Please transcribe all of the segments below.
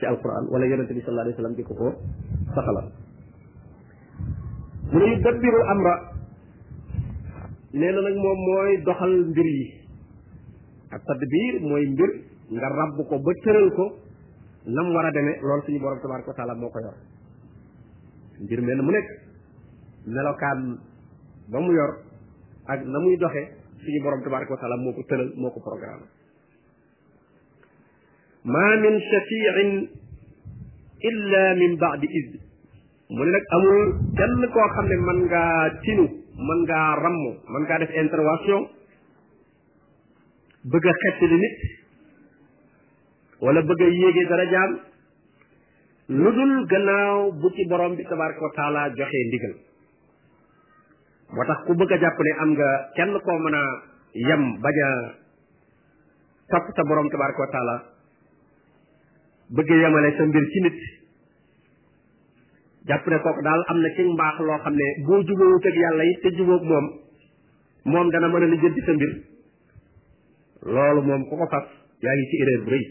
ci alquran wala yonente bi sallallahu alayhi wasallam di ko saxalal mu ne yudabbiru amra nee na nag moom mooy doxal mbir yi ak tadbir mooy mbir nga rabb ko ba tëral ko nam war a demee loolu suñu borom tabaraka wa taala moo ko yor mbir mel mu nekk melokaan ba mu yor ak na muy doxe suñu borom tabaraka wa taala moo ko tëral moo ko programme ma min shafiin illa min ba'di idn mu ne nag amul kenn koo xam ne mën ngaa tinu mën ngaa ramm mën ngaa def intervention bëgg a xettali nit wala bëgg a yéege darajaam lu dul gannaaw bu ci borom bi tabaraka wa taala joxee ndigal moo tax ku bëgg a jàpp ne am nga kenn koo mën a yem bañ a topp sa borom tabaraka wa taala bëgg a yemale sa mbir ci nit jàpp ne kooku daal am na ci mbaax loo xam ne boo jubóowut ak yàlla it te jubóog moom dana mën a lijjanti sa mbir loolu moom ku ko fas yaa ngi ci erreur bu rëy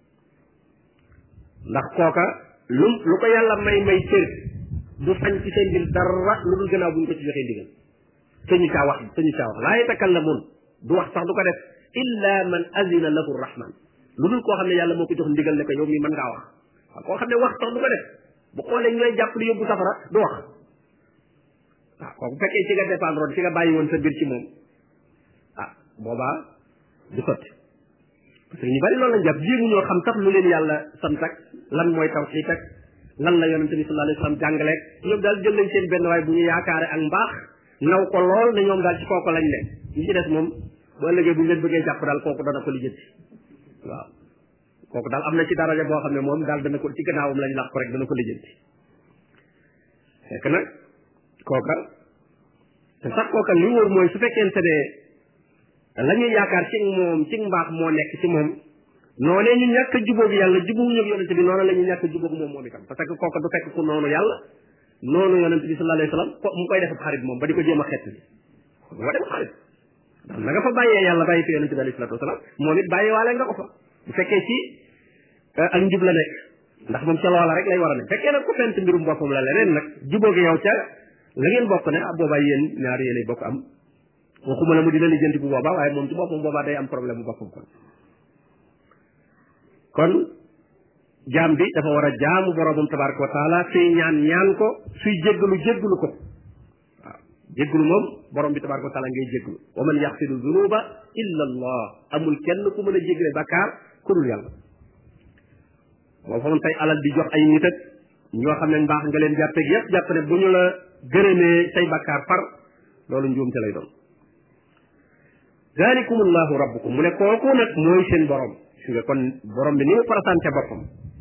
ndax kooka lu ko yàlla may cër du sañ ci seen mbir dara lu dul gannaaw bu ñu ko ci joxee ndigal sañu caa wax laa yatakallamun du wax sax du ko def illa man azina lahu rahman lu dul koo xam ne yàlla moo ko jox ndigal ne ko yow mii mën ngaa wax waaw koo xam ne wax sax du ko def bu xoolee ñu lay jàpp li yóbbu safara du wax waaw kooku fekkee ci nga dépendre ci nga bàyyi woon sa mbir ci moom boobaa du sotti parce que ñu bari loolu lañ jàpp jéemu ñoo xam sax lu leen yàlla sant ak lan mooy tawxiid ak lan la yonente bi sallallahu alayhi wasallam jàngaleeg ñoom daal jël nañ seen benn waay bu ñu yaakaare ak mbaax naw ko lool ne ñoom daal ci kooku lañ ne ñi ci des moom bu ëllëgee bu ñu leen bëggee jàpp daal kooku dana ko lijjanti waaw kooku daal am na ci daraja boo xam ne moom daal dana ko ci gannaawam lañ lax ko rek dana ko lijjanti fekk nag kooka te sax kooka li wóor mooy su fekkente ne la ñuy yaakaar ci moom ci mbaax moo nekk ci moom noonee ñu ñàkk a jubóog yàlla jubóogu ñëw yonente bi noonu la ñu ñàkk a jubóog moom itam parce que kooka du fekk ku noonu yàlla noonu yonente bi sallallahu alayhi wasallam mu koy def xarit moom ba di ko jéem a xett bi boo dem xarit ndax na nga fa bàyyee yàlla bàyyi fi yonente bi alayhi salatu wasalam moom it bàyyi waale nga ko fa bu fekkee ci ak njub la nekk ndax moom ca loola rek lay war a nekk fekkee nag ku fent mbirum boppam la leneen nag jubóogi yow ca la ngeen bokk ne boobaa yéen ñaari yéenay bokk am waxuma la mu dina lijjanti bu boobaa waaye moom ci boppam boobaa day am problème bu boppam kon jaam bi dafa war a jaamu boromam tabaraka wa taala suy ñaan ko suy jéggalu ko waaw jéggalu moom borom bi tabaraka wa taala ngay jéggalu wa man yaxfiru zunuba illa allah amul kenn ku mën a jéggale bakkaar ku dul yàlla boo fa tey alal di jox ay nit ak ñoo xam ne mbaax nga leen jàppeeg yépp jàpp ne bu ñu la gërëmee say bakkaar far loolu njuumte lay doon zalikum allahu rabbukum mu ne kooku nag mooy seen borom su nga kon borom bi ni mu présenté boppam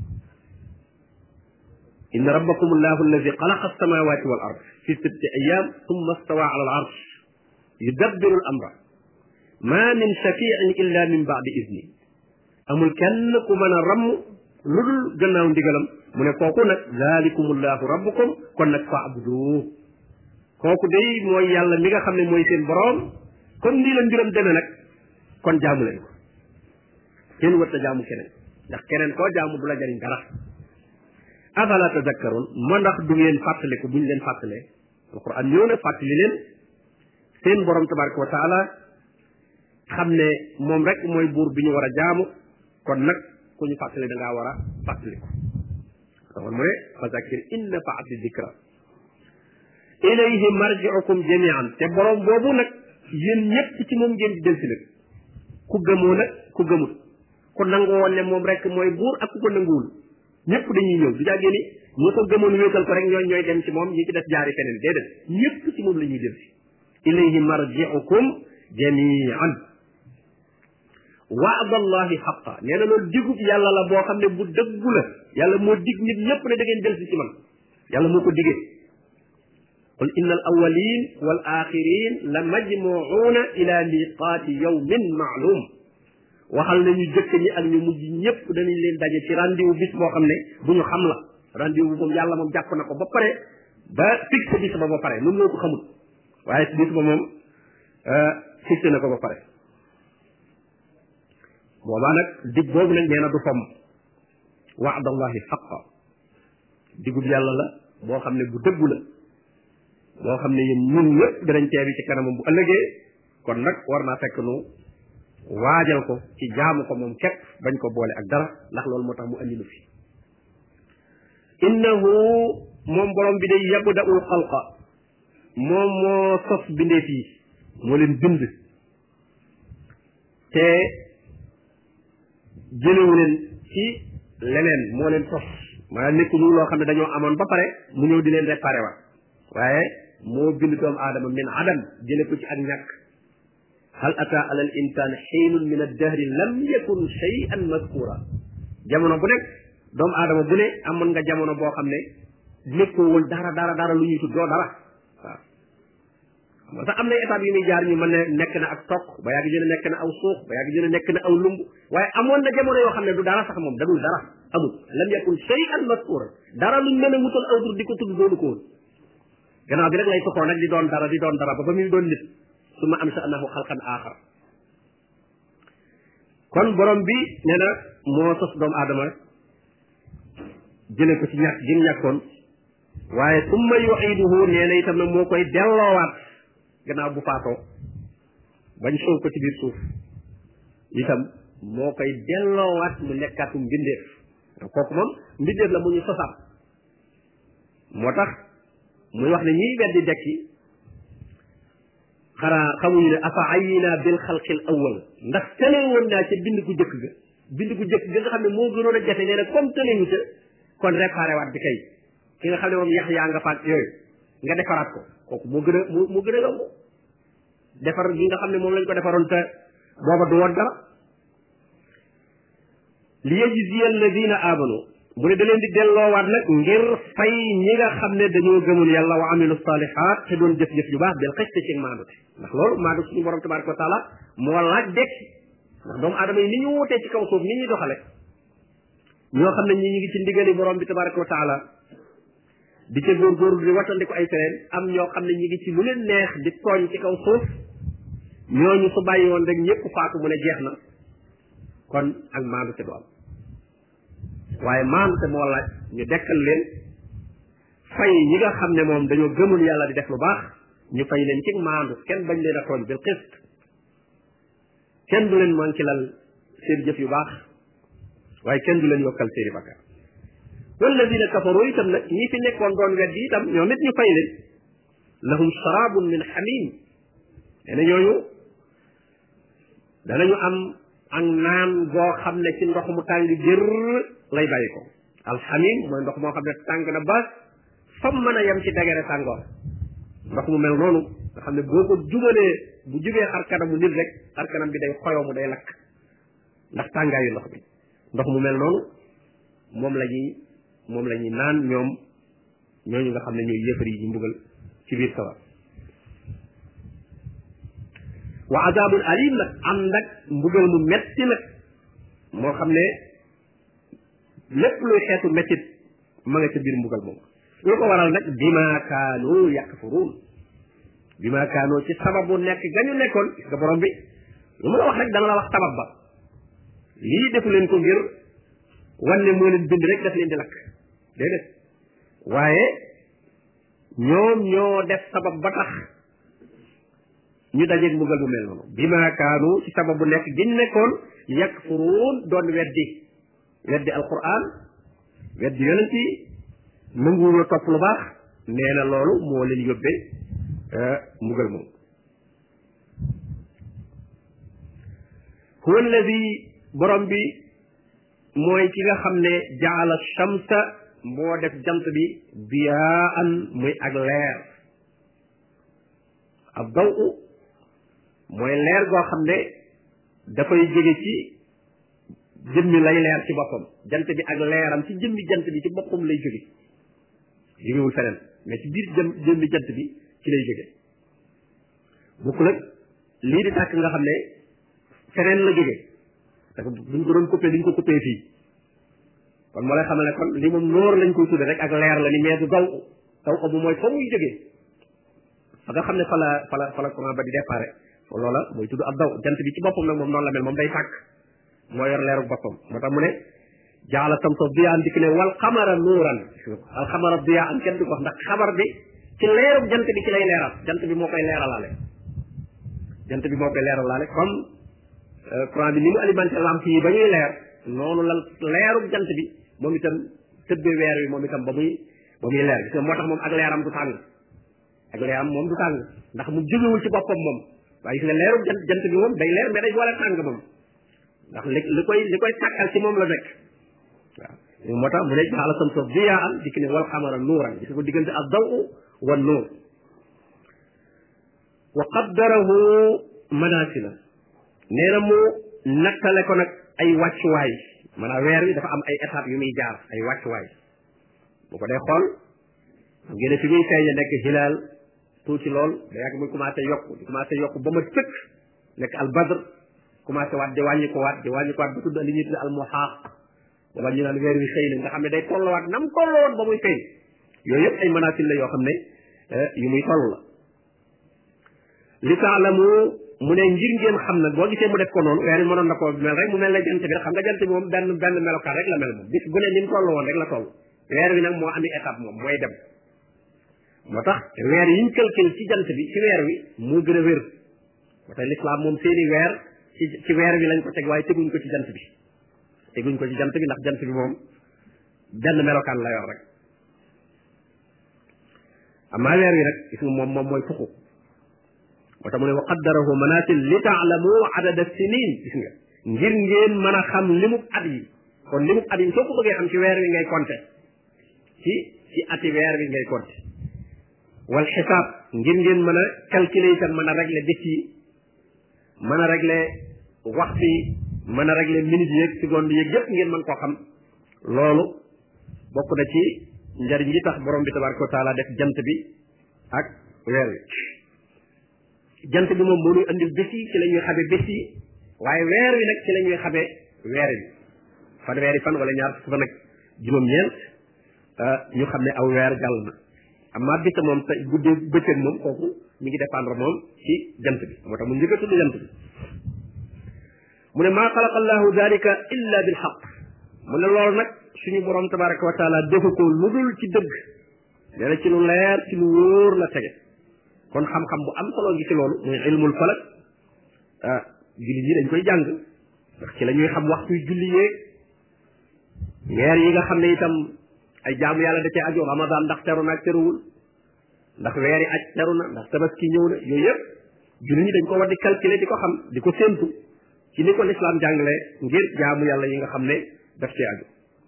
inna rabbakum allahu alladi xalaqa alsamawati wal ard fi sittati ayam thumma stawa ala al arsh yudabbiru al amra ma min shafiin illa min ba'di idni amul kenn ku mën a ramm lu dul gannaaw ndigalam mu ne kooku nag zalikum allahu rabbukum kon nag fa'budu kooku day mooy yàlla mi nga xam ne mooy seen borom kon nii la mbiram demee nag kon jaamu leen ko kenn wërta jaamu keneen ndax keneen koo jaamu du la jariñ dara afala tadakkaroon moo ndax du ngeen fàttaliku buñ leen fàttalee alquran ñëw na fàttali leen seen borom tabaraka wa taala xam ne moom rek mooy buur bi ñu war a jaamu kon nag ku ñu fàttali da ngaa war a fàttaliku kon mu ne fa zakkir in nafaati dikra ilayhi marji'ukum jami'an te borom boobu nag yéen ñëpp ci moom ngeen di del si nag ku gëmoo nag ku gëmut ku nangu woon ne moom rek mooy buur ak ku ko nanguwul ñëpp dañuy ñëw du jàggee ni ñi ko gëmoon wéetal ko rek ñooy dem ci moom ñi ci def jaari feneen déedéet ñëpp ci moom la ñuy del si ilayhi marji'ukum jami'an wa'dallahi haqqa nee na loolu digub yàlla la boo xam ne bu dëggu la yàlla moo dig nit ñëpp ne da ngeen del si ci man yàlla moo ko digee qul inna al awwalin wal axirin la majmuuna ila miqaati yawmin ma'lum waxal na ñu jëkk ñi ak ñu mujj ñëpp danañ leen daje ci rendez-vous bis boo xam ne bu ñu xam la rendez-vous moom yàlla moom jàpp na ko ba pare ba fixé bis ba pare nun noo ko xamul waaye bis ba moom fixé na ko ba pare boobaa nag dig boobu nag nee na du fomm wa'dallahi haqqa digub yàlla la boo xam ne bu dëggu la boo xam ne yéen ñun ñëpp danañ teewi ci kanamam bu ëllëgee kon nag war naa fekk nu waajal ko ci jaamu ko moom képp bañ ko boole ak dara ndax loolu moo tax mu andi lu fi innahu moom borom bi day yabda'ul xalqa moom moo sos bindeef yi moo leen bind te jëlewu leen ci leneen moo leen sos maanaam nekkuñu loo xam ne dañoo amoon ba pare mu ñëw di leen réparé waat waaye moo bind doomu aadama min adam jële ko ci ak ñàkk hal ata ala al insan xiinun min addahri lam yakun shay'an mazkura jamono bu nekk doomu aadama bu ne amoon nga jamono boo xam ne nekkoo woon dara lu ñuy tudd doo dara waaw moo tax am na étape yu muy jaar ñu mën ne nekk na ak toq ba yàgg jëne nekk na aw suux ba yàgg jëne nekk na aw lumb waaye amoon na jamono yoo xam ne du dara sax moom dadul dara amul lam yakun shay'an mazkura dara luñ mën a wutal aw tur di ko tudd doonu ko woon gannaaw bi rek lay soxoo nag di doon dara ba muy doon nit su ma am sa annahu xalqan axar kon borom bi nee na moo sos doomu aadama jële ko ci ñàkk gi ñàkkoon waaye summa yu'iduhu nee na itam nag moo koy delloowaat gannaaw bu faatoo bañ soow ko ci biir suuf itam moo koy delloowaat mu nekkaatum mbindeef kooku moom mbindeef la mu ñu sosaat moo tax muy wax ne ñiy weddi dekki xanaa xamuñu ne afa ayina bil xalqil awwal ndax tële woon naa ca bind gu jëkk ga nga xam ne moo gënoon a jafe nee na comme tëlewu ca kon réparé waat bi kay ki nga xam ne moom yax yaa nga faat yooyu nga defaraat ko kooku moo gën a yomb defar gi nga xam ne moom lañ ko defaroon te booba du woon dara li yajziya alladina amanu mu ne da leen di delloowaat nag ngir fay ñi nga xam ne dañoo gëmul yàlla wa amilu salihat te doon jëf-jëf yu baax del xëcc ci maandute ndax loolu maandu suñu borom tabaraka wa taala moo laaj dekki ndax doomu aadama yi ni ñu wutee ci kaw suuf ni ñuy doxale ñoo xam ne ñi ngi ci ndigali borom bi tabaraka wa taala di ca góorgóorlu di wattandi ko ay tereen am ñoo xam ne ñi ngi ci lu leen neex di tooñ ci kaw suuf ñooñu su bàyyi woon rek ñëpp faatu mu ne jeex na kon ak maandute du am waaye maandute moo laaj ñu dekkal leen fay ñi nga xam ne moom dañoo gëmul yàlla di def lu baax ñu fay leen ci maandu kenn bañ leen a tooñ bil qist kenn du leen manqué lal seen jëf yu baax waaye kenn du leen yokkal seeni bakkaar walladina kafaru itam nag ñi fi nekkoon doon weddi itam ñoom it ñu fay leen lahum sharabun min hamim nee na ñooñu danañu am ak naan goo xam ne ci ndox mu tàng jër lay bàyyi ko alxamim mooy ndox moo xam ne tàng na ba fam mën a yem ci degere tàngoor ndox mu mel noonu nga xam ne boo ko jubalee bu jubee xar kanamu nit rek xar kanam bi day xoyoo mu day lakk ndax tàngaayu ndox bi ndox mu mel noonu moom la ñuy naan ñooñu nga xam ne ñooy yëfar yi ñu mbugal ci biir sawar wa azabun alim nag am nag mbugal mu metti nag moo xam ne lépp luy xeetu mettit ma nga ca biir mbugal moom lu ko waral nag bima kaanu yakfuruun bima kaanu ci sababu nekk gañu nekkoon gis nga borom bi lu mu la wax rek dana la wax sabab ba lii defu leen ko ngir wanne moo leen bind rek daf leen di lakk déedéet waaye ñoom ñoo def sabab ba tax ñu dajeeg mbugal bu mel noonu bima kaanu ci sababu nekk giñ nekkoon yakfuruun doon weddi alquran weddi yonent yi nanguwul a topp lu baax nee na loolu moo leen yóbbee mbugal moom huwa alladi borom bi mooy ki nga xam ne jaala shamsa moo def jant bi biyaan muy ak leer ab daw mooy leer goo xam ne dafay jóge ci jëmmi lay leer ci boppam jant bi ak leeram ci jëmmi jant bi ci boppam lay jóge jógewul feneen mais ci biir jëmmi jant bi ci lay jóge bokkul ak lii di tàkk nga xam ne feneen la jóge parce que buñ ko doon coupé duñ ko coupé fii kon moo lay xamal ne kon li moom noor lañ koy tudde rek ak leer la ni mais du daw ko bu mooy fa muy jógee fa nga xam ne fa la courant ba di déparé loola mooy tudd ab daw jant bi ci boppam nag moom noonu la mel moom day tàkk moo yor leeru boppam moo tax mu ne jaala samsa diyaan dikk ne wal xamara nuuran al xamara diyaan kenn du ko wax ndax xabar bi ci leerub jant bi ci lay leeral jant bi moo koy leeralaale jant bi moo koy leeralaale comme courant bi ni mu alimenté lampe yi ba ñuy leer noonu la leerub jant bi moom itam tëbbe weer wi moom itam ba muy leer gis nga moo tax moom ak leeram du tàng ak leeram moom du tàng ndax mu jógewul ci boppam moom waaye gis nga leerub jant bi moom day leer mais day boole tàng moom ndax li koy tàkkal ci moom la nekk waaw moo tax mu ne jaala samsa diyaan dikk ne wal xamara nuuran gis nga ko diggante ak daw wa nuur wa qaddarahu manasila nee na mu nattale ko nag ay wàccuwaay maanaam weer wi dafa am ay étapes yu muy jaar ay wàccuwaay bu ko dee xool xam ngeen ne fi muy feeñe nekk hilaal tuuti lool da yàgg muy commencé yokk ba ma tëkk nekk al badr commencé waat di wàññi ko waat ba tudd li ñuy tudd al muhaaq wala ñu naan weer wi xëy na nga xam ne day tolluwaat nam tolluwoon ba muy feeñ yooyu yëpp ay manaasil la yoo xam ne yu muy toll la li taalamu mu ne ngir ngeen xam nag boo gisee mu def ko noonu weer wi mënoon na ko mel rek mu mel ne jant bi rek xam nga jant bi moom benn melokaan rek la mel moom bis bu ne ni mu toll woon rek la toll weer wi nag moo ami étape moom mooy dem moo tax weer yiñ calcul ci jant bi ci weer wi moo gën a wér moo tax l'islam moom seeni weer ci weer wi lañ ko teg waaye teguñ ko ci jant bi ndax jant bi moom benn melokaan la yor rek amaa weer wi nag gis nga moom mooy fuku moo tax mu ne wa qaddarahu manasil li taalamu adada sinin gis nga ngir ngeen mën a xam limub at yi kon limub at yi soo ko bëggee xam ci weer wi ngay compter ci ati weer wi ngay compter wal xisaab ngir ngeen mën a calculer itam mën a régler bés yi mën a régler waxtu yi mën a régler minutes yeeg secondes yeeg yëpp ngeen mën koo xam loolu bokk na ci njariñ li tax borom bi tabaraka wa taala def jant bi ak weer wi jant bi moom moo ñuy andil bés yi ci la ñuy xamee bés yi waaye weer wi nag ci la ñuy xamee weer wi fanweeri fan wala ñaar fukki fan ak juróom-ñeent ñu xam ne aw weer jàll na amma bisa moom te guddee bëccëg moom kooku mi ngi dépendre moom ci jant bi moo tax mu njëkk a tudd jant bi mu ne maa xalaqa allahu dalika illa bil xaq mu ne loolu nag suñu borom tabaraka wa taala defu ko lu dul ci dëgg nee na ci lu leer ci lu wóor la tege kon xam-xam bu am solo ngi ci loolu muy ilmul falak jullit yi dañ koy jàng ndax ci la ñuy xam waxtuy julli yeeg weer yi nga xam ne itam ay jaamu yàlla da cee aju ramadan ndax teru na ak teruwul ndax weeri aj teru na ndax tabaski ñëw na yooyu yëpp jullit ñi dañ ko war di calculer di ko xam di ko séentu ci ni ko lislaam jàngale ngir jaamu yàlla yi nga xam ne daf cee aju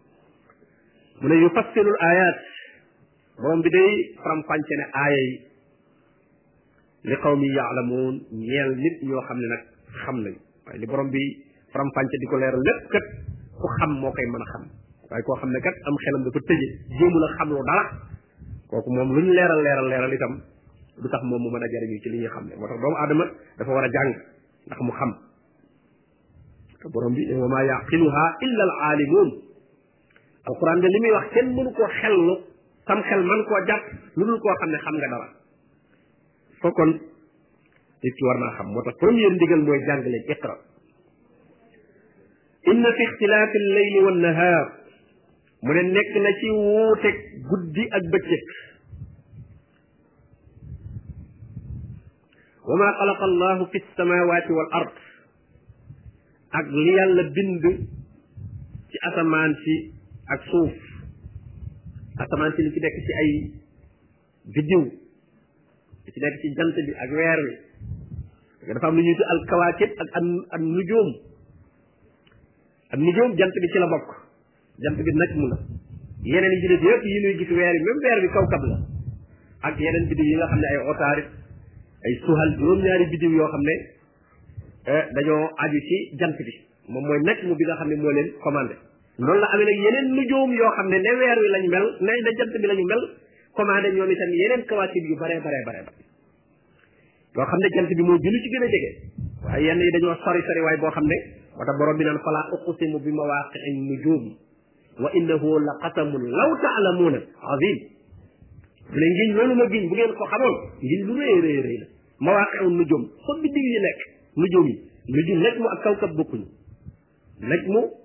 mu ne yufassilul ayat borom bi day faram-fàcce ne aaya yi li qawmi yaalamuun ñeel nit ñoo xam ne nag xam nañ waaye li borom bi faram-fàcce di ko leeral lépp kat ku xam moo koy mën a xam waaye koo xam ne kat am xelam dafa tëje jéemul a xamlu dara kooku moom lu ñu leeral itam du tax moom mu mën a jariñu ci li ñuy xam ne moo tax doomu aadama dafa war a jàng ndax mu xam te borom bi wa maa yaqiluha illa al aalimuun alquran de li muy wax kenn mënu koo xellu sam xel man koo jàpp lu dul koo xam ne xam nga dara fokkoon nit ki war naa xam moo tax première ndigal mooy jàng leen iqra inna fi ixtilaafi alleyli wannahaar mu ne nekk na ci wuuteeg guddi ak bëccëg wa ma xalaqa allahu fi samawati wal ard ak li yàlla bind ci asamaan si ak suuf asamaan si li ci nekk ci ay biddiw li ci nekk ci jant bi ak weer wi dafa am lu ñuy tudd al kawaakib ak an nujum am nujum jant bi ci la bokk jant bi najmu la yeneen yi ci def yëpp yi ñuy gis weer yi même weer bi kawkab la ak yeneen biddiw yi nga xam ne ay otaarit ay suhal juróom-ñaari biddiw yoo xam ne dañoo aju ci jant bi moom mooy najmu bi nga xam ne moo leen commandé noonu la amee nag yeneen nujum yoo xam ne weer wi lañ mel ne jant bi lañu mel commandé ñoom itam yeneen kawaakib yu bare yoo xam ne jant bi moo julli ci gën a jege waaye yenn yi dañoo sori waaye boo xam ne moo tax borom bi naan fala uqsimu bi mawaqi'i nujum wa innahu la qasamun law ta'lamuuna azim bu ne ngiñ loolu ma giñ bu ngeen ko xamoon ngiñ lu rëy la mawaqi'u nujum fa biddiw yi nekk nujum yi nujum najmu ak kawkab bokkuñu najmu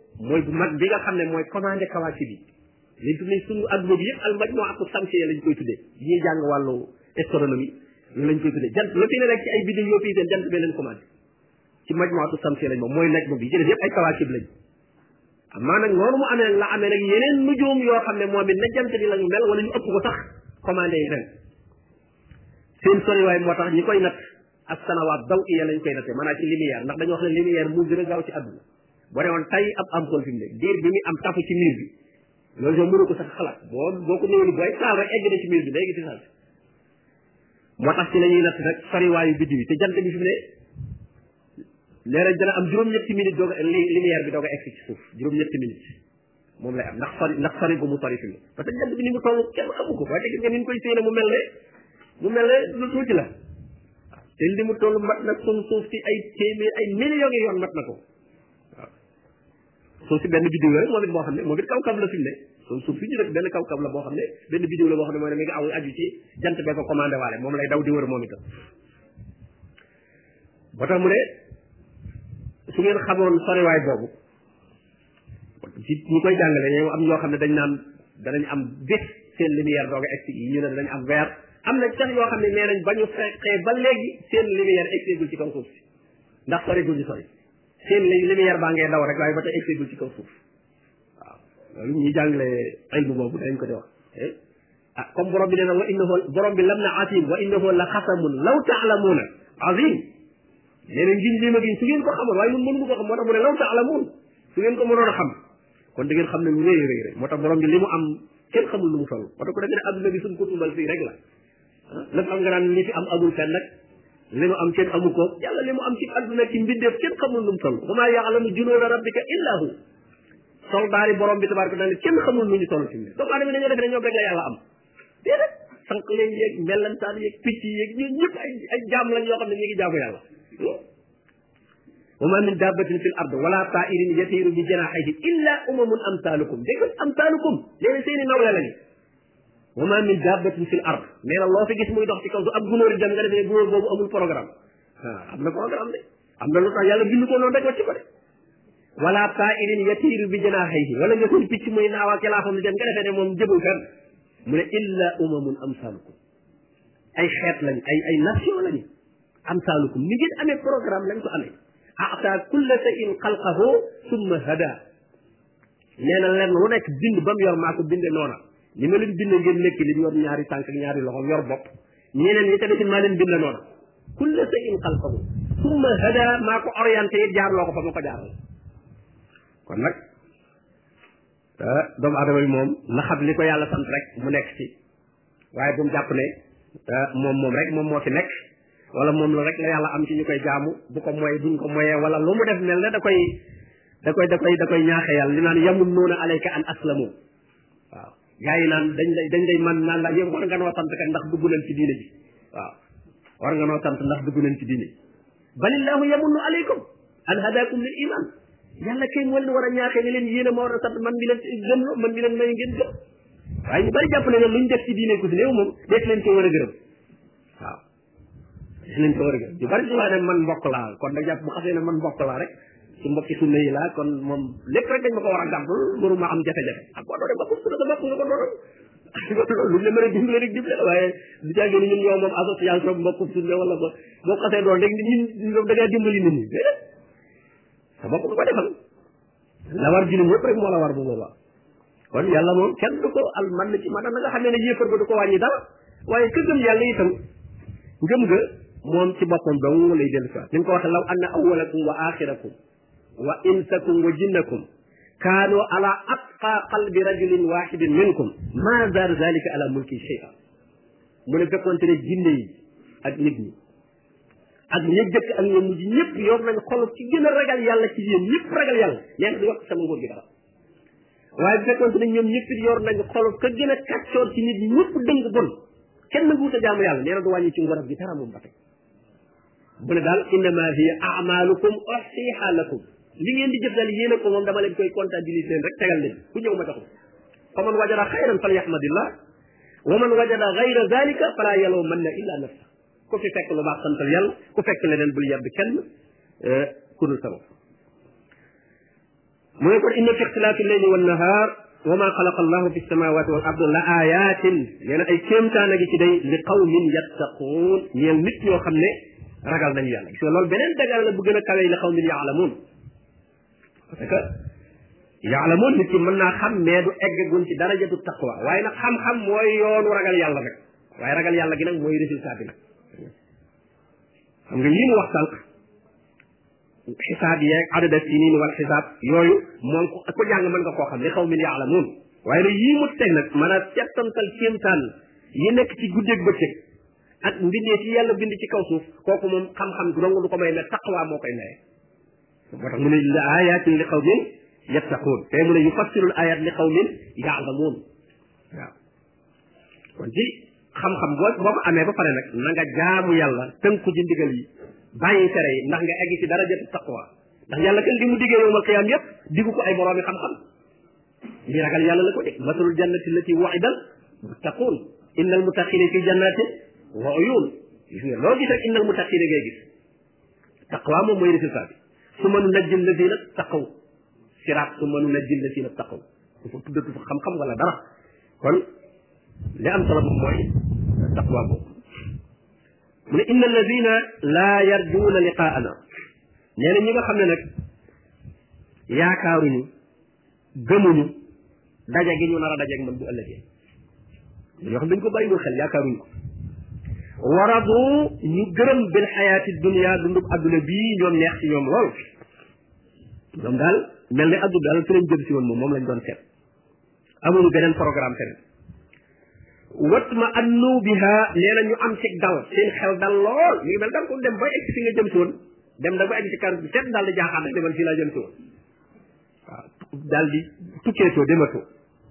mooy bu mag bi nga xam ne mooy commandé kawaakib bi liñ tuddee suñu adduna bi yëpp al majmuatu samsiya lañ koy tuddee ñuy jàng wàllu astronomie loolu lañ koy tuddee jant la fi ne rek ci ay biddiw yoo fii seen jant bee leen commandé ci majmuatu samsiya lañ moom mooy najmu bi ci def yëpp ay kawaakib lañ amaa nag noonu mu amee la amee nag yeneen nujuum yoo xam ne moom it na jant bi lañu mel wala ñu ëpp ko sax commandé yi ren seen soriwaay moo tax ñi koy natt ak sanawaat daw iya lañ koy nattee maanaam ci lumière ndax dañoo wax ne lumière moo gën a gaaw ci àdduna boo demoon tay ab ampoule fi mu ne diir bi muy am tafu ci miir bi loolu soo mënu ko sax xalaat boo ko néewli booy taal rek egg na ci miir bi léegi ci saal moo tax ci la ñuy natt nag soriwaayu biddi bi te jant bi fi mu ne léeg-léeg dana am juróom-ñetti minutes doog a lumière bi doog a egg ci suuf juróom-ñetti minutes moom lay am ndax sori bu mu sori fi mu ne parce que jant bi ni mu toll kenn xamu ko waaye te gis nga ni ñu koy séene mu mel ne lu tuuti la te li mu toll mat nag suñ suuf si ay téeméer ay millions yi yoon mat na ko waaw suuf si benn biddiw la rek moom it boo xam ne moom it kaw-kaw la fi mu ne suuf si ñu def benn kaw-kaw la boo xam ne benn biddiw la boo xam ne mooy ne mi ngi aw aju ci jant bee ko commandé waale moom lay daw di wër moom itam ba tax mu ne su ngeen xamoon soriwaay boobu ci ñi koy jàngale ñoom am ñoo xam ne dañ naan danañ am bés seen lumière doog a egg si ñu ne danañ am weer am na sax yoo xam ne nee nañ ba ñu xee ba léegi seen lumière egseegul ci kaw suuf si ndax sorigul ñu sori seen lumière baa ngee daw rek waaye ba tey egseegul ci kaw suuf waaw loolu ñuy jàngale ilmu boobu dañ ko di wax ah comme borom bi nee na wa innahu borom bi lam na asim wa innahu la xasamun law taalamuuna azim nee na ngiñ lii ma giñ su ngeen ko xamoon waaye ñun mënu ko xam moo tax mu ne law taalamuun su ngeen ko mënoon a xam kon da ngeen xam ne lu rëy rëy rëy moo tax borom bi li mu am kenn xamul lu mu toll moo tax ko defee ne adduna bi suñ ko tumbal fii rek la lépp am nga naan li fi am amul fenn nag li mu am kenn amu ko yàlla li mu am ci adduna ci mbindeef kenn xamul lu mu toll wa maa ya'lamu junuuda rabbika illa hu soldaari borom bi tabaraka taala kenn xamul lu ñu toll ci mbir doomu aadama dañoo defe ne ñoo rek la yàlla am déedéet sànq leen yeeg mellantaan yeeg picc yeeg ñun ñëpp ay jaam lañ yoo xam ne ñu ngi jaamu yàlla wa ma min dabbatin fil ard wala ta'irin yatiru bi janahihi illa umamun amsalukum dégg amsalukum léegi seeni nawle lañu wa ma min dabbatin fil ard nee na loo fi gis muy dox ci kaw su ab gunóor dem nga defee gunóor boobu amul programme am na programme de am na lu tax yàlla bind ko noonu rek wacc ko de wala ta'irin yatiru bi janahihi wala nga seen picc muy naaw ak laafam di dem nga defee ne moom jëbul fenn mu ne illa umamun amsalukum ay xeet lañu ay nation lañu amsalukum ni ngeen amee programme lañ ko amee a'ta kulla shay'in xalqahu summa hada nee na lenn lu nekk bind ba mu yor maa ko binde noona ni ma leen bind ngeen nekk li yor ñaari tànk ak ñaari loxo yor bopp ñeneen ñi tamit maa leen bind noona kulla shay'in xalqahu summa hada maa ko orienté it jaarloo ko fa ma ko jaaral kon nag doomu adama bi moom na xam li ko yàlla sant rek mu nekk ci waaye bu mu jàpp ne moom rek moom moo fi nekk wala moom la rek la yàlla am ci ñu koy jaamu bu ko moy buñ ko moyee wala lu mu def mel ne da koy ñaaxe yàlla li naan yamunnuuna alayka an aslamu waaw gaa yi naan dañ lay man naan la yow war nga noo sant kat ndax dugg nañ ci diine ji waaw war nga noo sant ndax dugg nañ ci diine balillahu yamunnu alaykum an hadakum lil iman yàlla kay moo leen war a ñaaxee ne leen yéen a ma war a sant man mi leen gëm man mi leen may ngeen gëm waaye ñu bari jàpp ne luñ def ci diine ku si néew moom def leen ko war a gërëm waaw def leen ko war a gërëm ñu bari ci wax ne man mbokk laa kon da jàpp bu xasee ne man mbokk laa rek ci mbokki sunna yi laa kon moom lépp rek dañ ma ko war a gàmpul mënu ma am jafe-jafe ak boo doone bopp sunna sa bopp nga ko doon lu ñu mën a dimbale rek dimbale waaye du caagee ni ñun ñoo moom association mbokk sunna wala ba boo xasee doon rek ñun da ngaa dimbali nit ñi déedéet sa bopp nga ko defal la war jullit yëpp rek moo la war bu boobaa kon yàlla moom kenn du ko al man ci maanaam nga xam ne yéefar ba du ko wàññi dara waaye ka gëm yàlla itam ngëm nga moom ci boppam dong lay dellu si ni mu ko waxee law anna awwalakum wa axirakum wa insakum wa jinnakum kaanu ala atqa qalbi rajulin wahidin minkum ma zaada zalika ala mulki shay'a mu ne fekkoonte ne jinne yi ak nit ñi ak ña jëkk ak ña mujj ñëpp yor nañ xol ci gën a ragal yàlla ci yéen ñëpp ragal yàlla nee na du yokk sama nguur gi dara waaye bu fekkoonte ne ñoom ñëpp yor nañ xol ka gën a kàccoor ci nit ñi ñëpp dëng bon kenn na guuta jaamu yàlla nee na du wàññi ci nguuram gi dara moom ba tey bu ne daal innama hiya a'malukum uhsiha lakum li ngeen di jëf daal yéen a ko moom dama leen koy comptabiliser rek tegal leen ku ñëw ma taxul fa man wajada xayran falyahmadillah wa man wajada gayra zalika fala yalumanna illa nafsa ku fi fekk lu baax santal yàlla ku fekk leneen bul yedd kenn ku dul sa bopp mu ne kon inna fi ixtilaafi leyli wan nahaar wa ma xalaqa allahu fi samawati wal ardi la ayatin nee na ay kéemtaan a gi ci day li qawmin yattaquun ñeel nit ñoo xam ne ragal nañu yàlla gis nga loolu beneen dagal la bu gën a kawe li qawmin yaalamuun parce que yaalamuun nit ki mën naa xam mais du eggagun ci darajatu taqwa waaye nag xam-xam mooy yoonu ragal yàlla nag waaye ragal yàlla gi nag mooy résultat bi nag xam nga lii mu wax sànq xisaab yeeg adada sinin wal xisaab yooyu moom ko jàng mën nga koo xam li qawmin yaalamuun waaye nag yii mu teg nag mën a settantal kéemtaan yi nekk ci guddeeg bëccëg ak mbindee ci yàlla bind ci kaw suuf kooku moom xam-xam dong du ko may ne taqwa moo koy maye moo tax mu ne la ayatin li qawmin yattaquun te mu ne yufassirul ayat li qawmin yaalamuun waaw kon ci xam-xam boo ko amee ba pare nag na nga jaamu yàlla tënku ci ndigal yi bàyyi tere yi ndax nga egg ci darajatu taqwa ndax yàlla kan li mu diggee yowmal qiyaam yépp diggu ko ay boroomi xam-xam ñi ragal yàlla la ko de masalul jannati allati wu'idal muttaquun innal muttaqina fi jannatin wa uyun gis nga loo gis rek innal muttaqina ngay gis taqwa moom mooy résultat bi summa nunajji alladina taqaw siraat summa nunajji alladina taqaw dafa tuddatu fa xam-xam wala dara kon li am solo moom mooy taqwa boobu mu ne inna alladina laa yarjuuna liqaana nee na ñi nga xam ne nag yaakaaruñu gëmuñu daje gi ñu nar a dajeeg man bu ëllëgee yoo xam dañ ko bàyyiwul xel yaakaaruñu ko waradu ñu gërëm bil xayaati dunia dundub adduna bii ñoom neex ci ñoom lool ñoom daal mel ne adduna daal fi lañ jëm si woon moom lañ doon seet amuñu beneen programme feneen watma annu biha nee na ñu am ci dal seen xel dal lool mi ngi mel da nga ko dem ba egg fi nga jëm si woon dem da ba egg ci kar bi seet daal di jaaxaan rek demal fii laa jëm si woon waaw daal di tukkeetoo dematoo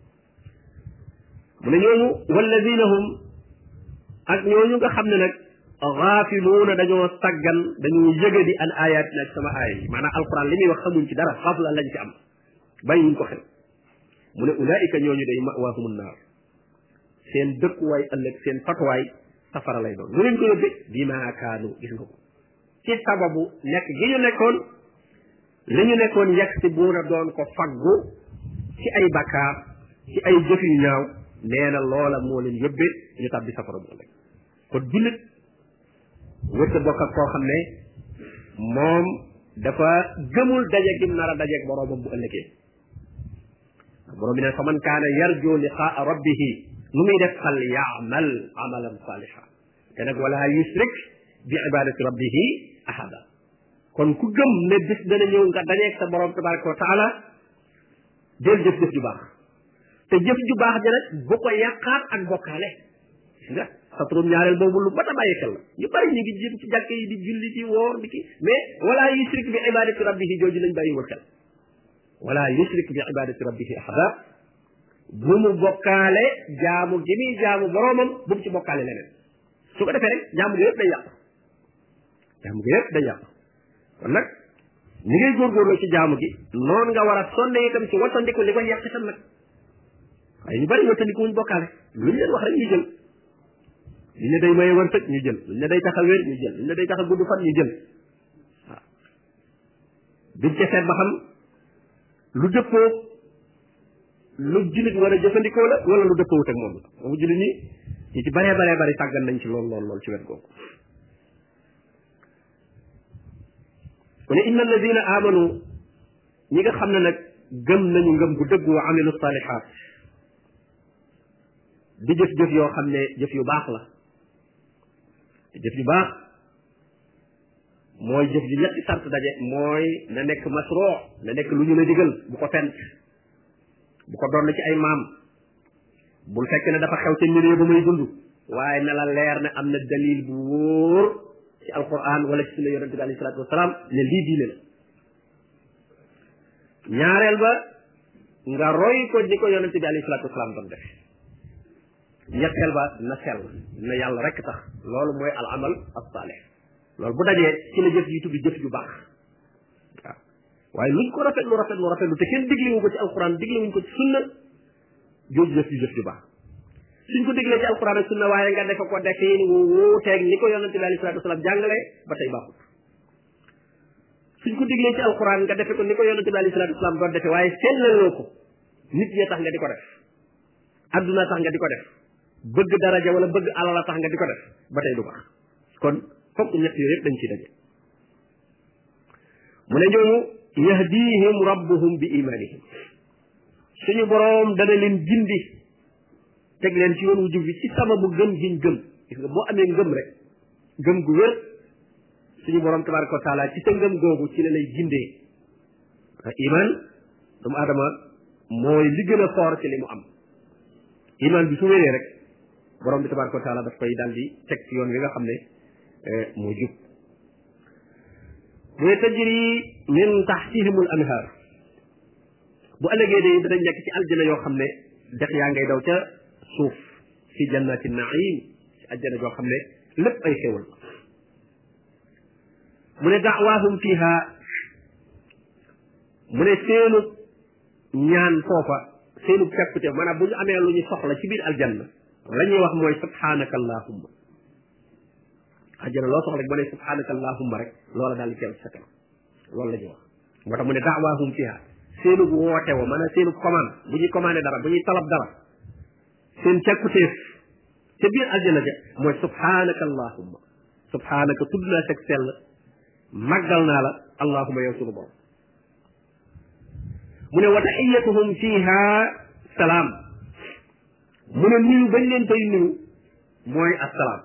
mu ne ñooñu walladina hum ak ñooñu nga xam ne nag gaafiluuna dañoo saggan dañoo yëgadi an ayatina ak sama aaya yi maanaam alquran li muy wax xamuñ ci dara xafla lañ ci am bàyyiwuñ ko xel mu ne ulaika ñooñu day mawaahumun naar seen dëkkuwaay ëllëg seen fatuwaay safara lay doon lu leen ko yóbbee bima kaanu gis nga ko ci sababu nekk gi ñu nekkoon li ñu nekkoon yegg si buuna doon ko faggu ci ay bakkaar ci ay jëf yu ñaaw nee na loola moo leen yóbbee ñu tàbbi safara bu ëllëg kon jullit wërta bokk ak koo xam ne moom dafa gëmul daje gi mu nar a dajeeg boroomam bu ëllëgee boroom bi ne fa man kaana yarju liqaa rabbihi lu muy def fal yaamal amalan saliha te nag wala yusrik bi ibadati rabbihi ahada kon ku gëm ne bis dana ñëw nga dajeeg sa borom tabaraka wa taala del jëf-jëf ju baax te jëf ju baax ja nag bu ko yàqaat ak bokkaale gis nga satrum ñaareel boobu lu mat a bàyyi xel la ñu bari ñu ngi jëm ci jàkk yi di julli ci woor di ki mais wala yusrik bi ibadati rabbihi jooju lañ bàyyiwul xel wala yusrik bi ibadati rabbihi ahada bu mu bokkaale jaamu gi muy jaamu boromam bu mu ci bokkaale leneen su ko defee rek jaamu gi yëpp day yàqu jaamu gi yëpp day yàqu kon nag ni ngay góorgóorloo ci jaamu gi noonu nga war a sonne itam ci wattandiku li koy yàq itam nag waaye ñu bari wattandiku wuñ bokkaale lu ñu leen wax rek ñu jël luñ ne day maye wërsëg ñu jël luñ ne day tax a wér ñu jël luñ ne day tax a gudd fan ñu jël waaw duñ ca seet ba xam lu dëppoo lu jullit war a jëfandikoo la wala lu dëppoowut ak moom la moom jullit ñi ñu ci baree bari sàggan nañ ci lool ci wet googu mu ne inna alladina amanu ñi nga xam ne nag gëm nañu ngëm gu dëgg wa amilu salihat di jëf-jëf yoo xam ne jëf yu baax la jëf yu baax mooy jëf ju ñetti sart daje mooy na nekk masroo na nekk lu ñu la digal bu ko fent bu ko doon ci ay maam bul fekk ne dafa xew ca milieu ba muy dund waaye na la leer ne am na dalil bu wóor ci alquran wala ci sunna yonente bi alayhi salaatu wasalaam ne lii diine la ñaareel ba nga roy ko ni ko yonente bi alayhi salaatu wasalaam doon def ñetteel ba na sell na yàlla rek tax loolu mooy al amal as-salih loolu bu dajee ci la jëf yi tudd jëf ju baax waaw waaye luñ ko rafetlu te kenn digliwu ko ci alquran digliwuñ ko ci sunna jooju jëf ju baax suñ ko diglee ci alquran ak sunna waaye nga defe ko defin wu wuuteeg ni ko yonente bi alayhi salaatu wasalaam jàngale ba tey baaxut suñ ko diglee ci alquran nga defe ko ni ko yonente bi alayhi salaatu wasalaam doon defe waaye sellaloo ko nit ñee tax nga di ko def adduna tax nga di ko def bëgg daraja wala bëgg alala tax nga di ko def ba tey du baax kon fokk ñett yooyu yëpp dañ ciy daje mu ne ñooñu yahdihim rabbuhum bi imanihim suñu boroom dana leen gindi teg leen ci yoon wu jub bi ci sababu gëm giñ gëm gis nga boo amee ngëm rek ngëm gu wér suñu boroom tabaraka wa taala ci sa ngëm googu ci la lay gindee iman doomu aadama mooy li gën a foor ci li mu am iman bi su wéree rek borom bi tabaraka wa taala daf koy daal di teg ci yoon wi nga xam ne moo jub muy tajri min taxtihimul anhar bu ëllëgee de danañ nekk ci aljana yoo xam ne dex yaa ngay daw ca suuf fi jannati naim ci aljana joo xam ne lépp ay xéwal mu ne da'waahum fiha mu ne seenu ñaan foofa seenu cakkute maanaam bu ñu amee lu ñu soxla ci biir aljanna la ñuy wax mooy subhanaka allahumma àjjana loo soxla rek ba ne subhanaka allahumma rek loola daal di teew ci sa kanam loolu la ñuy wax moo tax mu ne da'waahum fiha seenu woote wa maanaam seenu commande bu ñuy commandé dara bu ñuy talab dara seen cakkuteef ca biir aljana ja mooy subhanaka allahumma subhanaka tudd naa seg sell màggal naa la allahumma yow sunu borom mu ne wa taxiyatuhum fiha salaam mu ne nuyu bañ leen koy nuyu mooy assalaam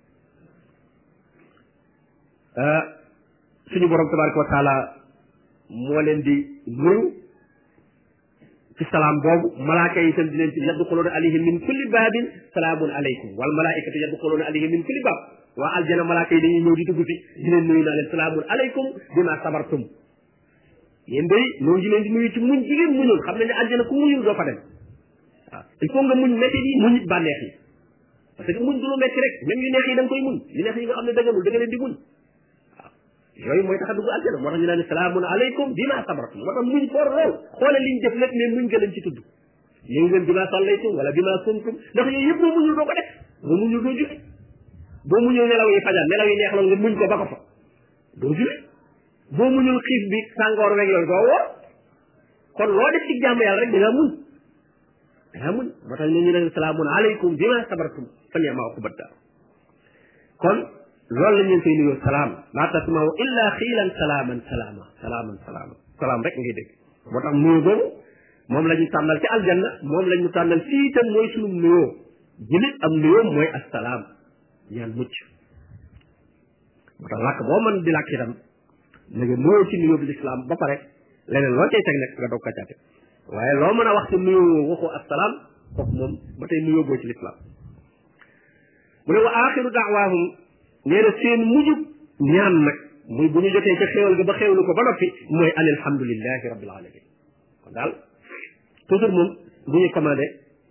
suñu borom tabaraka wa taala moo leen di nuyu ci salaam boobu malaaka yi itam di leen ci yadxuluuna alayhim min kulli baabin salaamun aleykum wal malaaikatu yadxuluuna alayhim min kulli baab waa aljana malaaka yi dañuy ñëw di dugg fi di leen nuyu naa leen salaamun aleykum bima sabartum yéen day ñoo ngi leen di nuyu ci muñ jigéen muñul xam ne ne aljana ku muñul doo fa dem waaw il faut nga muñ métti yi muñ it bànneex yi parce que muñ du lu métti rek même yu neex yi da nga koy muñ yu neex yi nga xam ne dëgganul da nga leen di muñ waaw yooyu mooy tax a dugg aljana moo tax ñu naan salaamun aleykum bima sabartum moo tax muñ foor lool xoole liñ def lépp ne muñ nga leen ci tudd yéen ngeen bima sallaytum wala bima sumtum ndax yooyu yëpp boo muñul doo ko def boo muñul doo julli boo muñul nelaw yi fajar nelaw yi neex la nga muñ ko ba ko fa doo julli boo muñul xiif bi sàngoor weeg yooyu doo woor kon loo def ci jàmm yàlla rek da ngaa muñ moo tax ñu ne salaamun aleykum bima sabartum fa ni'ma uqbad daar kon loolu la ñu koy nuyoo salaam laa tasma'u illa xiilan salaaman salaam rek ngay dégg moo tax nuyoo boobu moom la ñu tànnal ci aljanna moom la ñu tànnal fii itam mooy sunu nuyoo jullit am nuyoo mooy assalaam ñaan mucc moo tax làkk boo mën di làkk itam na nga nuyoo ci nuyoo bi lislaam ba pare leneen loo cay teg nag nga doog ko caate waaye loo mën a wax ci nuyoo waxoo assalaam kooku moom ba tey nuyoo boo ci lislaam mu ne wa axiru da'waahum nee na seen mujjub ñaan nag muy bu ñu jotee ca xéewal ga ba xéewlu ko ba noppi mooy an alhamdulillahi rabbil alamin kon daal toujours moom bu ñu commandé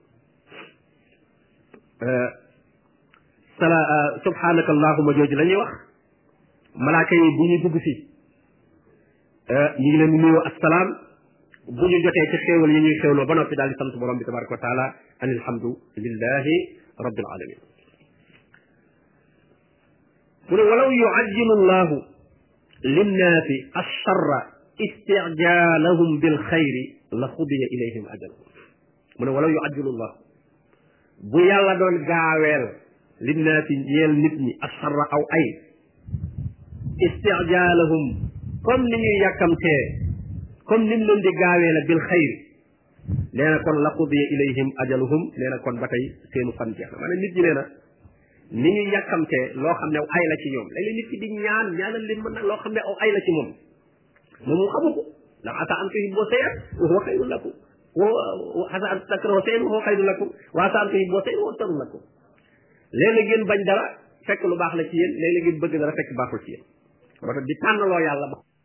subhanaka allahumma jooju la ñuy wax malaaka yi bu ñu dugg si ñu ngi leen di nuyoo assalaam bu ñu jotee ci xéewal yi ñuy xéewloo ba noppi daal di sant borom bi tabaraka wa taala an alhamdulillahi rabbil alamin mu ne walaw yuajjilu llahu linnaasi alcharra istijaalahum bilxayri la xudiya ilayhim ajaluhum mu ne walaw yuajjilu llah bu yàlla doon gaaweel linnaasi ñeel nit ñi alcharra aw ay istijaalahum comme ni ñuy yàkkamtee comme ni mu leen di gaawee la bilxayri nee na kon la xudiya ilayhim ajaluhum nee na kon ba tey seenu fan jeex na maanaam nit ñi nee na ni ñuy yàkkamtee loo xam ne aw ay la ci ñoom léeg-léeg nit ki di ñaanal leen mën nag loo xam ne aw ay la ci moom moom mu xamu ko ndax asa an tuhibbu shay'an wa huwa khayrun lakum wa asa an takrahu shay'an wa huwa khayrun lakum wa asa an tuhibbu shay'an wa huwa sharrun lakum léeg-léeg ngeen bañ dara fekk lu baax la ci yéen léeg-léeg ngeen bëgg dara fekk baaxul ci yéen moo tax di tànnaloo yàlla ba